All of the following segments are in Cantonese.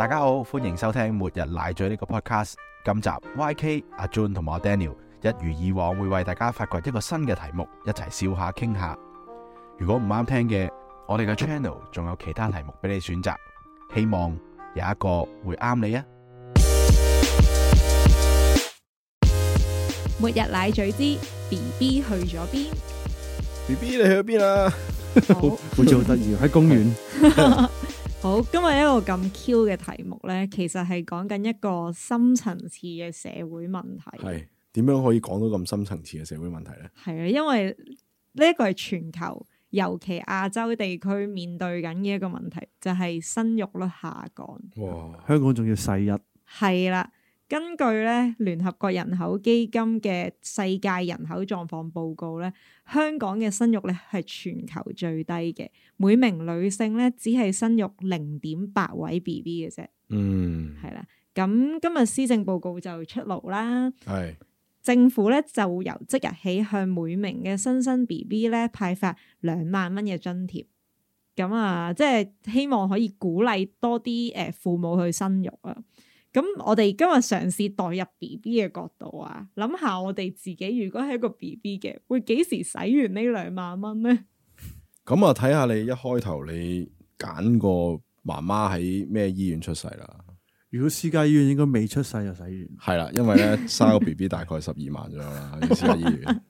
大家好，歡迎收聽末日奶嘴呢個 podcast。今集 YK 阿 Jun 同埋阿 Daniel 一如以往會為大家發掘一個新嘅題目，一齊笑下傾下。如果唔啱聽嘅，我哋嘅 channel 仲有其他題目俾你選擇，希望有一個會啱你啊！ 末日奶嘴之 BB 去咗邊 ？BB 你去咗邊啊？ 好似好得意喺公園。 好，今日一個咁 Q 嘅題目咧，其實係講緊一個深層次嘅社會問題。 係點樣可以講到咁深層次嘅社會問題咧？ 係啊，因為呢一個係全球，尤其亞洲地區面對緊嘅一個問題，就係生育率下降。 哇！ 香港仲要世一。 係啦。根據咧聯合國人口基金嘅世界人口狀況報告咧，香港嘅生育咧係全球最低嘅，每名女性咧只係生育0.8位 BB 嘅啫。係啦。咁今日施政報告就出爐啦。係。政府咧就由即日起向每名嘅新生 BB 咧派發2萬蚊嘅津貼。咁啊，即係希望可以鼓勵多啲父母去生育啊。咁我哋今日嘗試代入 BB 嘅角度啊，諗下我哋自己如果係一個 BB 嘅，會幾時使完呢2萬蚊咧？ 咁啊，睇下你一開頭你揀個媽媽喺咩醫院出世啦。 如果私家醫院應該未出世就使完。 係啦，因為咧生個 BB 大概12萬左右啦，私家醫院。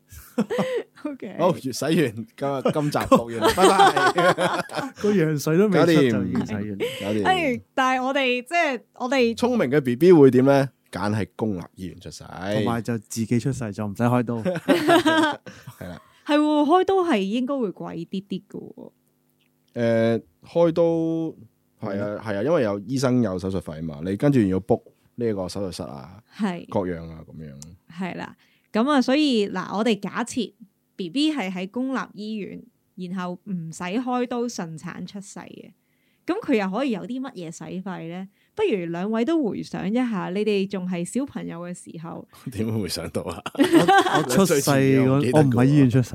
Okay. 好，洗完今集錄完，拜拜。 個羊水都未出就已經洗完， 搞掂。 但係我哋聰明嘅 BB 會點咧？揀喺公立醫院出世， 同埋就自己出世就唔使開刀。 係啦， 係開刀係應該會貴啲啲嘅。 開刀係啊，因為有醫生有手術費啊嘛，你跟住要 book 呢個手術室啊，係各樣啊咁樣。係啦。 咁啊，所以嗱，我哋假設 BB 係喺公立醫院，然後唔使開刀順產出世嘅，咁佢又可以有啲乜嘢使費咧？不如兩位都回想一下，你哋仲係小朋友嘅時候， 點會回想到啊？ 我出世我唔喺醫院出世，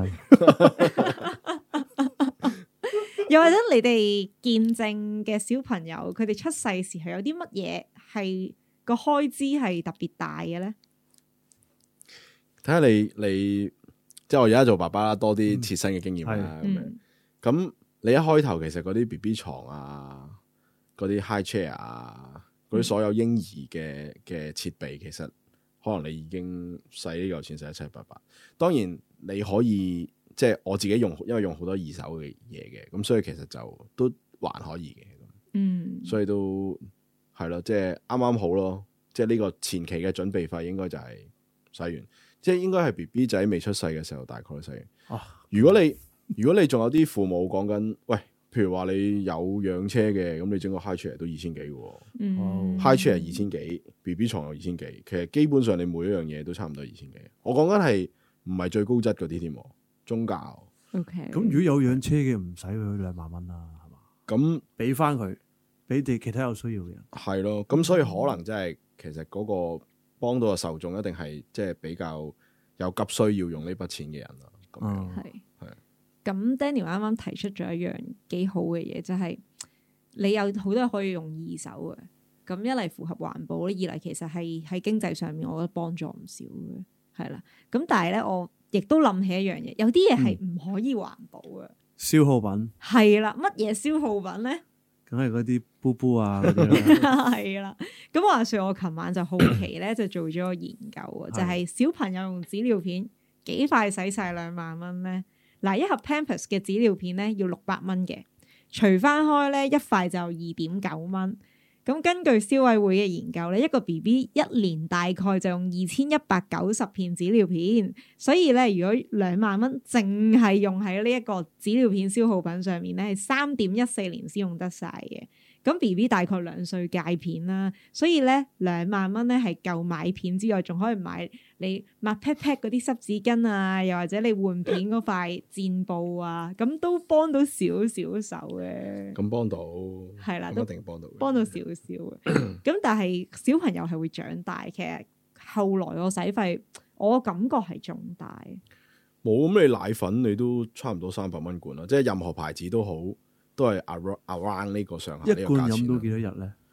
又或者你哋見證嘅小朋友，佢哋出世時候有啲乜嘢係個開支係特別大嘅咧？ 睇下你即係我而家做爸爸啦，多啲切身嘅經驗啦咁樣。咁你一開頭其實嗰啲 BB 床啊，嗰啲 high chair 啊，嗰啲所有嬰兒嘅設備，其實可能你已經使呢嚿錢使得七七八八。當然你可以即係我自己用，因為用好多二手嘅嘢嘅，咁所以其實就都還可以嘅。所以都係咯，即係啱啱好咯。即係呢個前期嘅準備費應該就係使完。即係應該係 BB 仔未出世嘅時候，大概使完。如果你仲有啲父母講緊，喂，譬如話你有養車嘅，咁你整個 high chair 都2000幾嘅。high chair 2000幾，BB 床又2000幾，其實基本上你每一樣嘢都差唔多2000幾。我講緊係唔係最高質嗰啲添，宗教。 OK。咁如果有養車嘅，唔使佢2萬蚊啦，係嘛？咁俾翻佢，俾哋其他有需要嘅人。係咯，咁所以可能真係其實嗰個幫到嘅受眾一定係即係比較有急需要用呢筆錢嘅人啦。咁樣係。 咁 Daniel 啱啱提出咗一樣幾好嘅嘢，就係你有好多可以用二手嘅。咁一嚟符合環保，二嚟其實係喺經濟上面，我覺得幫助唔少嘅。係啦。咁但係咧，我亦都諗起一樣嘢，有啲嘢係唔可以環保嘅。 消耗品。係啦，乜嘢消耗品咧？ 梗係嗰啲布布啊嗰啲啦。 係啦，咁話說我琴晚就好奇咧，就做咗個研究啊，就係小朋友用紙尿片幾快使晒2萬蚊咧？嗱，一盒 Pampers 嘅紙尿片咧要600蚊嘅，除翻開咧一塊就2.9蚊。咁根據消委會嘅研究咧，一個 BB 一年大概就用2190片紙尿片，所以咧如果2萬蚊淨係用喺呢一個紙尿片消耗品上面咧，係3.14年先用得晒嘅。咁 BB 大概2歲戒片啦，所以咧2萬蚊咧係夠買片之外，仲可以買你抹 pat pat 嗰啲濕紙巾啊，又或者你換片嗰塊墊布啊，咁都幫到少少手嘅。咁幫到係啦， 都一定幫到， 幫到少少嘅。咁但係小朋友係會長大，其實後來個使費，我感覺係仲大。 冇咁你奶粉你都差唔多300蚊罐啦，即係任何牌子都好。都係 around 呢個上下， 一罐飲到幾多日咧？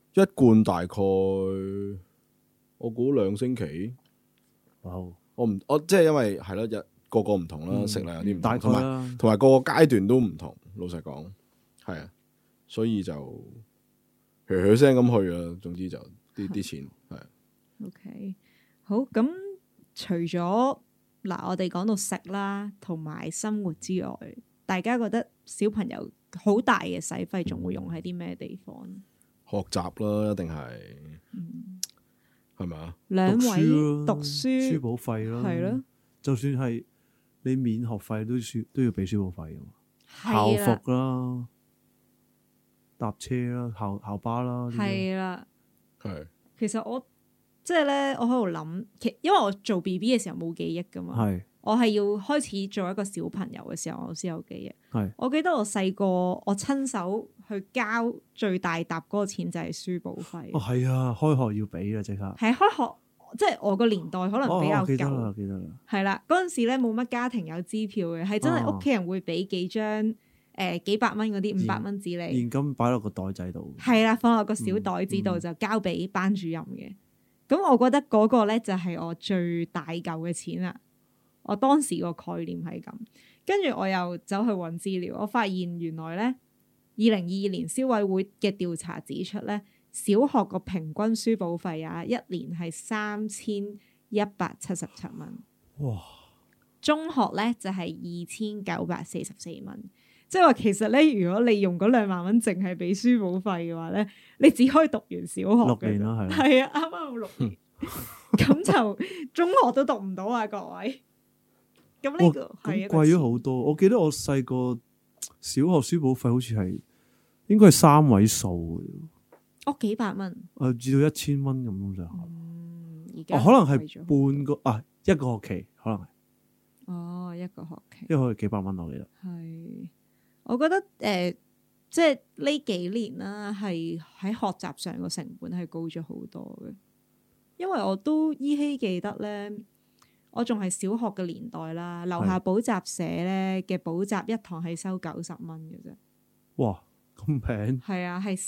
一罐大概我估2星期。 哇！ 我即係因為係咯，個個唔同啦，食量有啲唔同， 大概啦， 同埋個個階段都唔同。老實講，係啊，所以就噓噓聲咁去啊。總之就啲錢係。 OK， 好，咁除咗嗱，我哋講到食啦，同埋生活之外，大家覺得小朋友好大嘅使費，仲會用喺啲咩地方？ 學習啦，一定係，係咪啊？ 兩位讀書書簿費啦，係咯，就算係你免學費都要俾書簿費噶嘛，校服啦、搭車啦、校巴啦， 係啦， 係。 其實我即係咧，我喺度諗，因為我做 BB 嘅時候冇記憶噶嘛，係我係要開始做一個小朋友嘅時候，我先有記憶。係我記得我細個，我親手去交最大沓嗰個錢就係書簿費。哦，係啊，開學要俾啊，即刻係開學，即係我個年代可能比較舊。記得啦，記得啦。係啦，嗰陣時咧冇乜家庭有支票嘅，係真係屋企人會俾幾張幾百蚊嗰啲500蚊紙嚟，現金擺落個袋仔度。係啦，放落個小袋子度就交俾班主任嘅。咁我覺得嗰個咧就係我最大嚿嘅錢啦。我當時個概念係咁，跟住我又走去揾資料，我發現原來咧2022年消委會嘅調查指出咧，小學個平均書簿費啊，一年係3177蚊。哇！中學咧就係2944蚊。即係話其實咧，如果你用嗰2萬蚊淨係俾書簿費嘅話咧，你只可以讀完小學6年啦，係啊，啱啱好6年，咁就中學都讀唔到啊，各位。咁呢個係貴咗好多。我記得我細個小學書簿費好似係應該係3位數嘅，幾百蚊，至到1000蚊咁就。而家可能係半個一個學期可能係。一個學期，一個學期幾百蚊我記得。係。我覺得即係呢幾年啦，係喺學習上個成本係高咗好多嘅，因為我都依稀記得咧，我仲係小學嘅年代啦，樓下補習社咧嘅補習一堂係收90蚊嘅啫。哇，咁平？係啊，係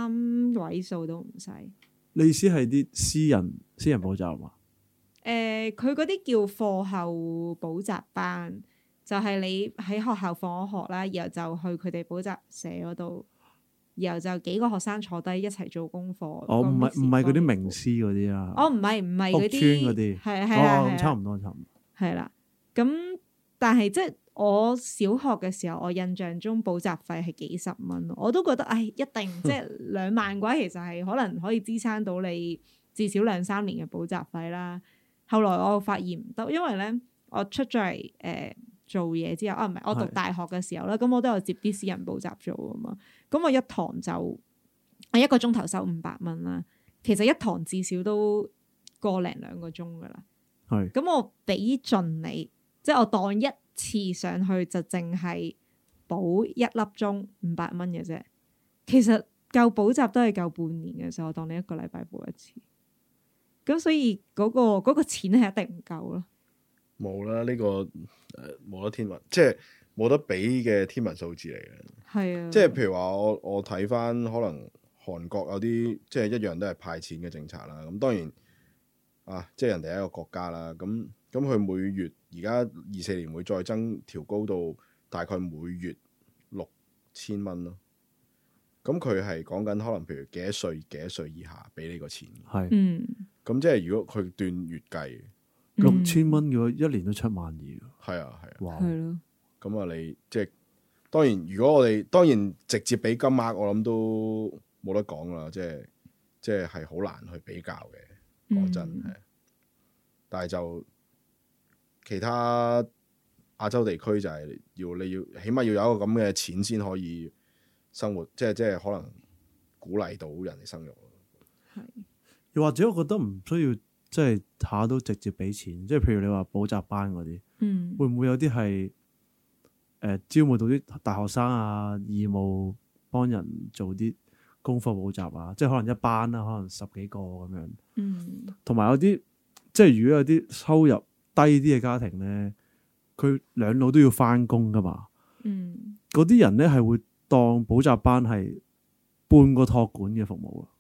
3位數都唔使。你意思係啲私人補習嘛？佢嗰啲叫課後補習班。就係你喺學校放咗學啦，然後就去佢哋補習社嗰度，然後就幾個學生坐低一齊做功課。唔係嗰啲名師嗰啲啊。唔係嗰啲。屋村嗰啲。係差唔多。係啦，咁但係即係我小學嘅時候，我印象中補習費係幾十蚊，我都覺得一定即係2萬嘅話，其實係可能可以支撐到你至少2-3年嘅補習費啦。後來我發現唔得，因為咧我出咗嚟做嘢之後唔係我讀大學嘅時候啦，咁我都有接啲私人補習做啊嘛，咁我一堂就我1個鐘頭收500蚊啦，其實一堂至少都個零2個鐘噶啦，係咁我俾盡你，即係我當一次上去就淨係補1粒鐘500蚊嘅啫，其實夠補習都係夠半年嘅時候，我當你1個禮拜補一次，咁所以嗰個錢係一定唔夠咯。冇啦，呢個冇得天文，即係冇得比嘅天文數字嚟嘅。係啊，即係譬如話我睇翻可能韓國有啲即係一樣都係派錢嘅政策啦。咁當然即係人哋係一個國家啦。咁佢每月而家24年會再調高到大概每月6000蚊咯。咁佢係講緊可能譬如幾多歲以下俾呢個錢。係，咁即係如果佢斷月計。6000蚊嘅話，一年都7萬2。係啊，哇！係咯。咁你即係當然，如果我哋當然直接俾金額，我諗都冇得講啦。即係好難去比較嘅，講真係。但係就其他亞洲地區就係你要起碼要有一個咁嘅錢先可以生活，即係可能鼓勵到人哋生育。係。又或者我覺得唔需要。即係下都直接俾錢，即係譬如你話補習班嗰啲，會唔會有啲係招募到啲大學生啊，義務幫人做啲功課補習啊？即係可能一班啦，可能10幾個咁樣。同埋有啲即係如果有啲收入低啲嘅家庭咧，佢兩老都要翻工噶嘛。嗰啲人咧係會當補習班係半個託管嘅服務啊。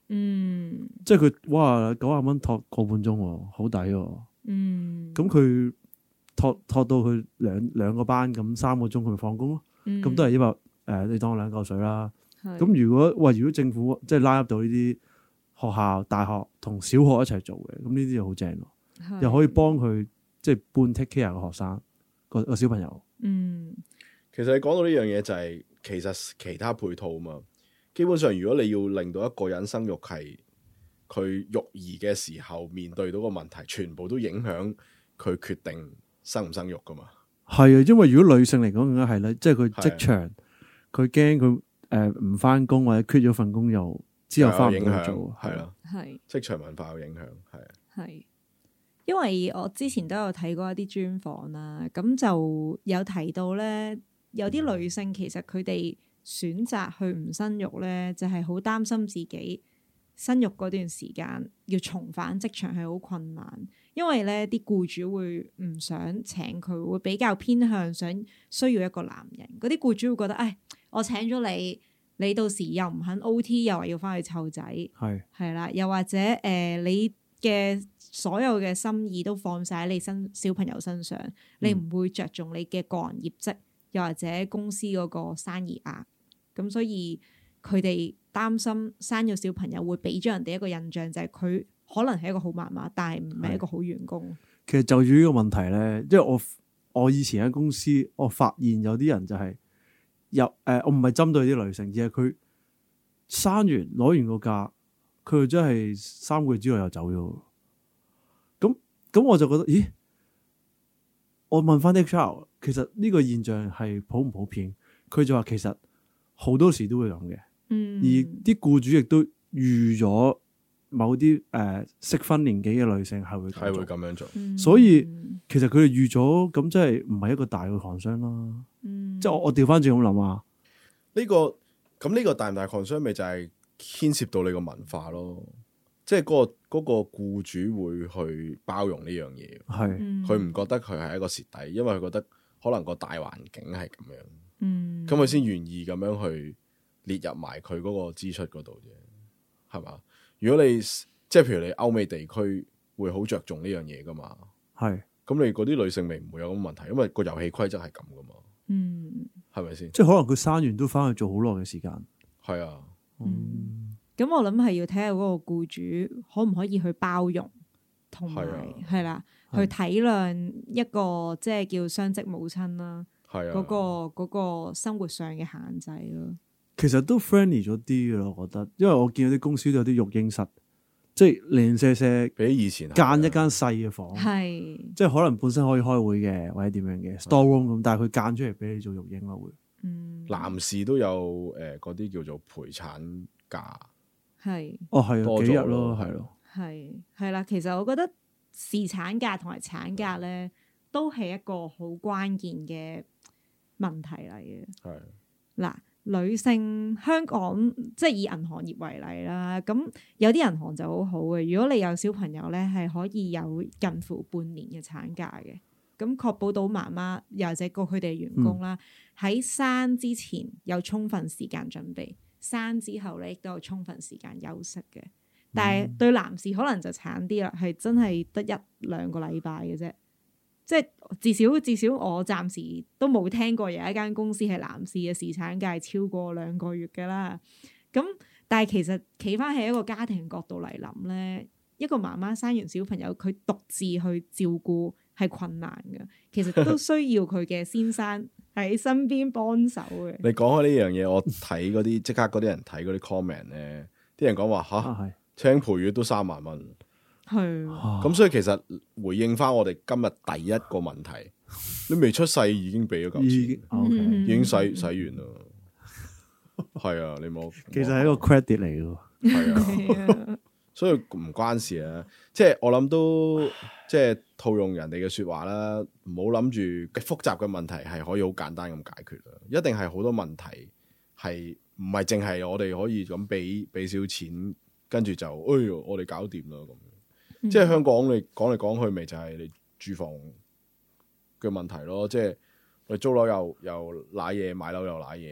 即係佢哇90蚊托個半鐘，好抵喎。咁佢托到佢兩個班咁3個鐘，佢咪放工咯。咁都係100你當2嚿水啦。咁如果政府即係拉入到呢啲學校、大學同小學一齊做嘅，咁呢啲就好正咯，又可以幫佢即係半 take care 個學生個小朋友。 其實你講到呢樣嘢就係其實其他配套啊嘛。基本上如果你要令到一個人生育係佢育兒嘅時候面對到個問題，全部都影響佢決定生唔生育噶嘛。係啊，因為如果女性嚟講更加係咧，即係佢職場佢驚佢唔翻工或者缺咗份工又之後翻唔到做， 係啦，係職場文化有影響， 係。因為我之前都有睇過一啲專訪啦，咁就有提到咧，有啲女性其實佢哋選擇去唔生育咧，就係好擔心自己生育嗰段時間要重返職場係好困難，因為咧啲僱主會唔想請佢，會比較偏向需要一個男人。嗰啲僱主會覺得，唉，我請咗你，你到時又唔肯 OT， 又話要翻去湊仔，係啦，又或者你嘅所有嘅心意都放晒喺你小朋友身上，你唔會着重你嘅個人業績，又或者公司嗰個生意額，咁所以佢哋擔心生咗小朋友會俾咗人哋一個印象，就係佢可能係一個好媽媽，但係唔係一個好員工。 其實就住呢個問題咧，因為我以前喺公司，我發現有啲人就係我唔係針對啲女性，而係佢生完攞完個假，佢就真係3個月之後又走咗。咁我就覺得，咦？我問翻 HR， 其實呢個現象係普唔普遍？佢就話其實好多時都會咁嘅，而啲僱主亦都預咗某啲適婚年紀嘅女性係會咁樣做，所以其實佢哋預咗，咁即係唔係一個大嘅 concern 啦。即係我調翻轉咁諗啊， 呢個大唔大 concern 咪就係牽涉到你個文化咯。即係嗰個僱主會去包容呢樣嘢，佢唔覺得佢係一個蝕底，因為佢覺得可能個大環境係咁樣，咁佢先願意咁樣去列入埋佢嗰個支出嗰度啫，係嘛？如果你即係譬如你歐美地區會好着重呢樣嘢噶嘛，咁你嗰啲女性咪唔會有咁問題，因為個遊戲規則係咁噶嘛，係咪先？ 即係可能佢生完都翻去做好耐嘅時間， 係啊。 咁我諗係要睇下嗰個僱主可唔可以去包容，同埋係啦，去體諒一個即係叫雙職母親啦，嗰個生活上嘅限制咯。 其實都 friendly 咗啲嘅咯，我覺得，因為我見到啲公司都有啲育嬰室，即係零舍舍比以前間一間細嘅房，即係可能本身可以開會嘅或者點樣嘅 store room 咁，但係佢間出嚟俾你做育嬰咯會。 男士都有嗰啲叫做陪產假。 係係幾日咯，係咯， 係啦。其實我覺得侍產假同埋產假咧，都係一個好關鍵嘅問題嚟嘅。係嗱，女性香港即係以銀行業為例啦，咁有啲銀行就好好嘅。如果你有小朋友咧，係可以有近乎半年嘅產假嘅，咁確保到媽媽又或者佢哋員工啦，喺生之前有充分時間準備。生之後咧，亦都有充分時間休息嘅。但係對男士可能就慘啲啦，係真係得1-2個禮拜嘅啫。即係至少我暫時都冇聽過有一間公司係男士嘅侍產假係超過2個月㗎啦。咁但係其實企翻喺一個家庭角度嚟諗咧，一個媽媽生完小朋友，佢獨自去照顧係困難嘅。其實都需要佢嘅先生喺身邊幫手嘅。你講開呢樣嘢，我睇嗰啲即刻嗰啲人睇嗰啲 comment 咧，啲人講話吓，請陪月都3萬蚊，係咁，所以其實回應翻我哋今日第一個問題，你未出世已經俾咗嚿錢，已經使完啦，係啊，你冇， 其實係一個 credit 嚟嘅， 係啊，所以唔關事啊，即係我諗都即係套用人哋嘅說話啦，唔好諗住複雜嘅問題係可以好簡單咁解決啦，一定係好多問題係唔係淨係我哋可以咁俾少錢，跟住就哎喲我哋搞掂啦咁。即係香港你講嚟講去，咪就係你住房嘅問題咯。即係你租樓又瀨嘢，買樓又瀨嘢，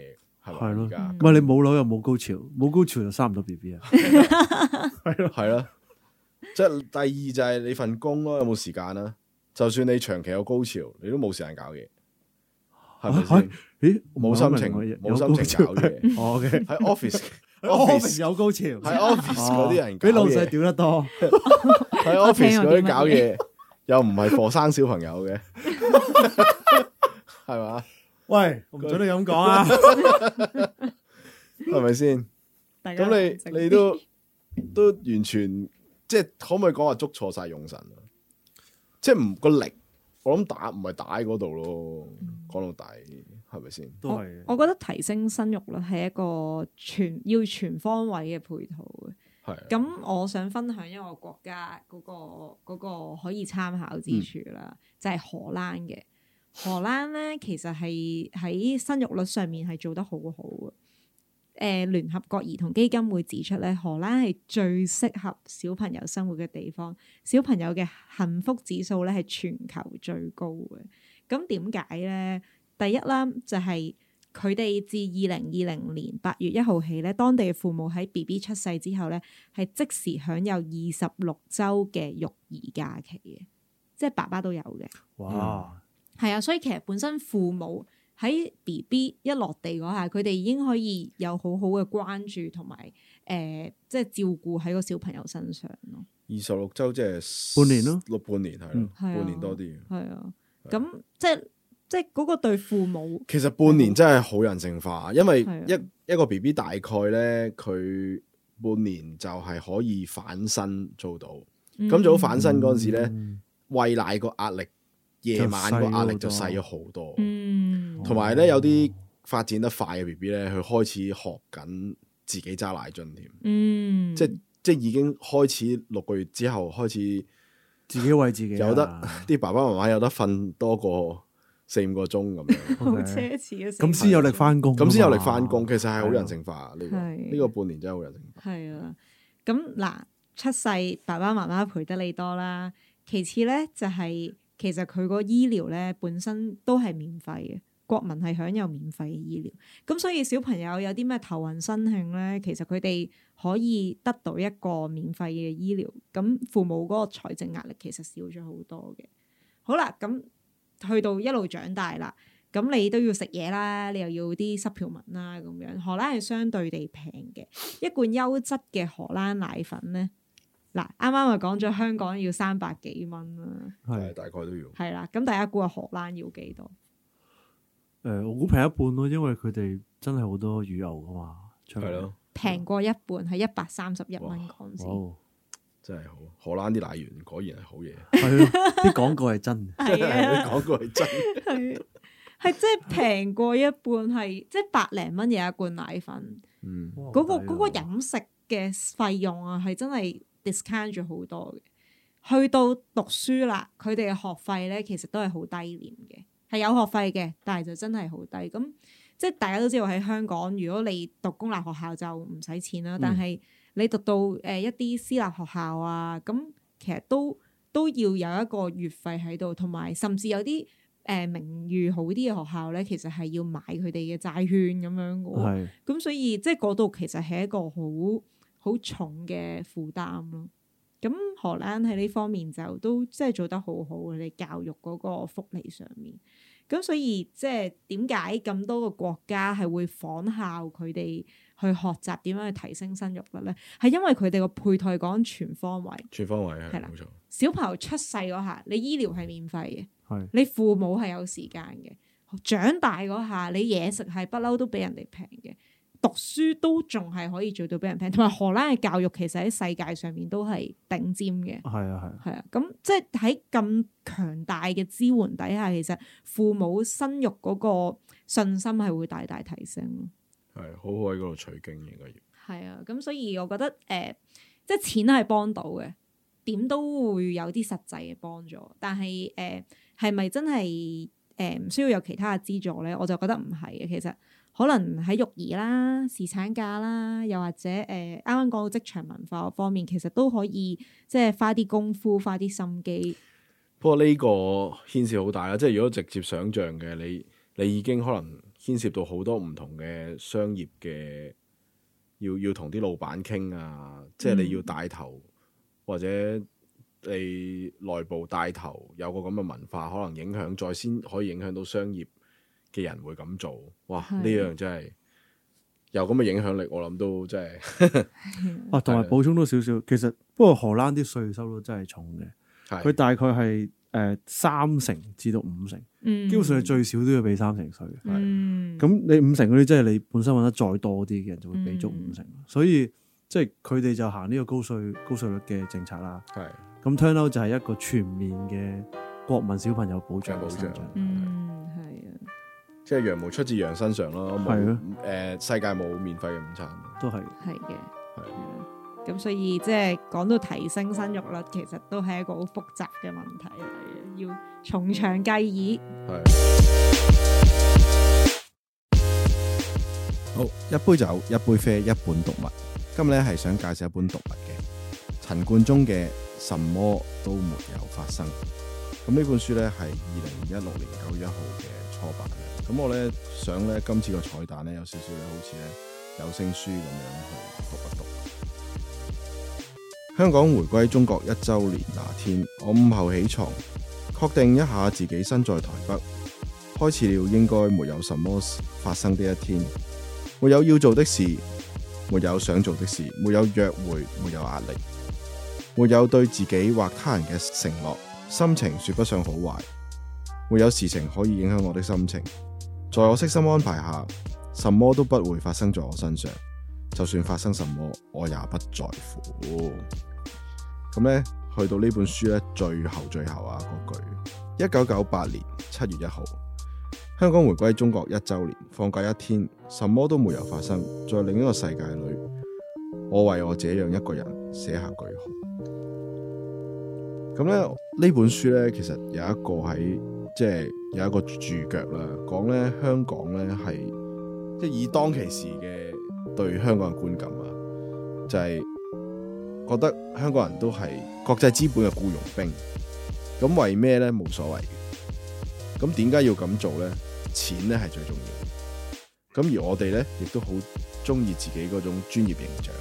係係咯， 而家唔係你冇樓又冇高潮，冇高潮就生唔到 BB 啊。 係咯，即係第二就係你份工咯，有冇時間啊？就算你長期有高潮，你都冇時間搞嘢，係咪先？ 咦， 冇心情，冇心情搞嘢。 哦，OK， 喺 office 有高潮， 喺 office 嗰啲人搞俾老細嘢， 屌得多。 喺 office 嗰啲搞嘢，又唔係課生小朋友嘅，係嘛？ 喂，我唔准你咁講啊， 係咪先？咁你都完全即係可唔可以講話捉錯晒用神啊？即係唔個力，我諗打唔係打喺嗰度咯。講到底係咪先？ 都係。 我覺得提升生育率係一個要全方位嘅配套嘅。 係。 咁我想分享一個國家嗰個可以參考之處啦，就係荷蘭嘅。荷蘭咧其實係喺生育率上面係做得好好嘅。聯合國兒童基金會指出咧，荷蘭係最適合小朋友生活嘅地方，小朋友嘅幸福指數咧係全球最高嘅。咁點解咧？第一啦，就係佢哋自2020年8月1號起咧，當地嘅父母喺 BB 出世之後咧，係即時享有26週嘅育兒假期嘅，即係爸爸都有嘅。 哇！ 係啊，所以其實本身父母喺 BB 一落地嗰下，佢哋已經可以有好好嘅關注同埋即係照顧喺個小朋友身上咯。 26週即係半年咯， 半年係咯，半年多啲。 係啊，咁即係嗰個對父母， 其實半年真係好人性化，因為一個 BB 大概咧，佢半年就係可以反身做到。咁做到反身嗰陣時咧，餵奶個壓力，夜晚個壓力就細咗好多。同埋咧，有啲發展得快嘅 BB 咧，佢開始學緊自己揸奶樽添。即係已經開始6個月之後開始自己餵自己， 有得啲爸爸媽媽有得瞓多過4-5個鐘咁樣， 好奢侈嘅。 咁先有力翻工， 咁先有力翻工。其實係好人性化呢個半年真係好人性化。 係啊，咁嗱，出世爸爸媽媽陪得你多啦。其次咧就係其實佢個醫療咧本身都係免費嘅，國民係享有免費嘅醫療。咁所以小朋友有啲咩頭暈身㷫咧，其實佢哋可以得到一個免費嘅醫療。咁父母嗰個財政壓力其實少咗好多嘅。好啦，咁去到一路長大啦，咁你都要食嘢啦，你又要啲supplement啦，咁樣荷蘭係相對地平嘅，一罐優質嘅荷蘭奶粉咧，嗱啱啱咪講咗香港要300幾蚊啦， 係大概都要。係啦，咁大家估下荷蘭要幾多？ 我估平一半咯，因為佢哋真係好多乳油噶嘛， 係咯， 平過一半係131蚊港紙。 真係好，荷蘭啲奶源果然係好嘢。 係咯，啲廣告係真， 係啊， 啲廣告係真， 係即係平過一半，係即係100零蚊有一罐奶粉。嗰個飲食嘅費用啊，係真係 discount 咗好多嘅。去到讀書啦，佢哋嘅學費咧，其實都係好低廉嘅，係有學費嘅，但係就真係好低。咁即係大家都知道喺香港，如果你讀公立學校就唔使錢啦，但係你讀到一啲私立學校啊，咁其實都要有一個月費喺度，同埋甚至有啲名譽好啲嘅學校咧，其實係要買佢哋嘅債券咁樣嘅。咁所以即係嗰度其實係一個好重嘅負擔咯。咁荷蘭喺呢方面就都即係做得好好嘅，你教育嗰個福利上面。咁所以即係點解咁多個國家係會仿效佢哋去學習點樣去提升生育率咧？係因為佢哋個配套講全方位，係啦，冇錯。小朋友出世嗰下，你醫療係免費嘅，你父母係有時間嘅。長大嗰下，你嘢食係不嬲都比人哋平嘅。讀書都仲係可以做到俾人平，同埋荷蘭嘅教育其實喺世界上面都係頂尖嘅。係啊，咁即係喺咁強大嘅支援底下，其實父母生育嗰個信心係會大大提升咯。 係好好喺嗰度取經應該要。 係啊，咁所以我覺得即係錢係幫到嘅，點都會有啲實際嘅幫助。但係係咪真係唔需要有其他嘅資助咧？我就覺得唔係嘅，其實。可能喺育兒啦、侍產假啦，又或者啱啱講到職場文化方面，其實都可以即係花啲功夫、花啲心機。 不過呢個牽涉好大啦，即係如果直接想像嘅，你已經可能牽涉到好多唔同嘅商業嘅，要同啲老闆傾啊，即係你要帶頭，或者你內部帶頭有個咁嘅文化，可能影響再先可以影響到商業嘅人會咁做。哇！呢樣真係有咁嘅影響力，我諗都真係。 啊，同埋補充多少少，其實不過荷蘭啲稅收都真係重嘅，佢大概係3%至到5%，基本上係最少都要俾3成稅。咁你5成嗰啲，即係你本身揾得再多啲嘅人就會俾足5成，所以即係佢哋就行呢個高稅率嘅政策啦。咁 turn out 就係一個全面嘅國民小朋友保障。係啊， 即係羊毛出自羊身上咯。世界冇免費嘅午餐， 都係嘅。咁所以即係講到提升生育率，其實都係一個好複雜嘅問題嚟嘅，要從長計議。 好，一杯酒，一杯啡，一本讀物。今日咧係想介紹一本讀物嘅陳冠中嘅《什麼都沒有發生》。咁呢本書咧係2016年9月1號嘅初版嘅。咁我咧想咧今次個彩蛋咧有少少咧好似咧有聲書咁樣去讀一讀。香港回歸中國1週年那天，我午後起床，確定一下自己身在台北，開始了應該沒有什麼發生的一天。沒有要做的事，沒有想做的事，沒有約會，沒有壓力，沒有對自己或他人嘅承諾，心情說不上好壞，沒有事情可以影響我的心情。在我悉心安排下，什麼都不會發生在我身上，就算發生什麼，我也不在乎。咁咧，去到呢本書咧，最後啊嗰句，1998年7月1號，香港回歸中國1週年，放假一天，什麼都沒有發生，在另一個世界裏，我為我這樣一個人寫下句號。咁咧，呢本書咧，其實有一個喺即係有一個注腳啦，講咧香港咧係即係以當其時嘅對香港嘅觀感啊，就係覺得香港人都係國際資本嘅僱傭兵，咁為咩咧冇所謂嘅？咁點解要咁做咧？錢咧係最重要嘅。咁而我哋咧亦都好中意自己嗰種專業形象。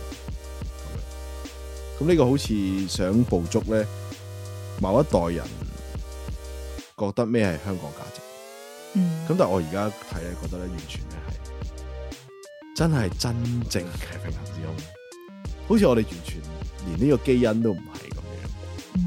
咁呢個好似想捕捉咧某一代人覺得咩係香港價值。咁但係我而家睇咧，覺得咧完全咧係真係真正嘅平行時空，好似我哋完全連呢個基因都唔係咁樣。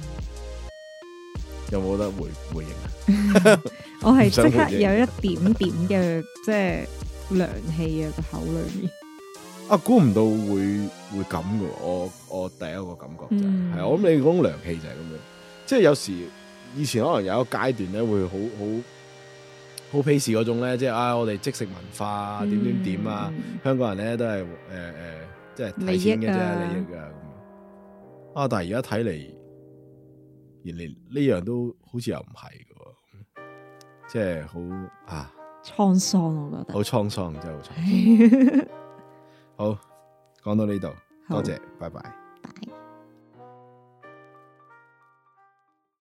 有冇得回應啊？ 我係即刻有一點點嘅即係涼氣啊個口裏面。 啊，估唔到會咁嘅，我第一個感覺就係，我諗你講涼氣就係咁樣，即係有時以前可能有一個階段咧會好鄙視嗰種咧，即係我哋即食文化點啊，香港人咧都係即係睇錢嘅啫，利益啊咁。但係而家睇嚟，連呢樣都好似又唔係嘅，即係好滄桑，我覺得好滄桑，真係好滄桑。好，講到呢度，多謝，拜拜。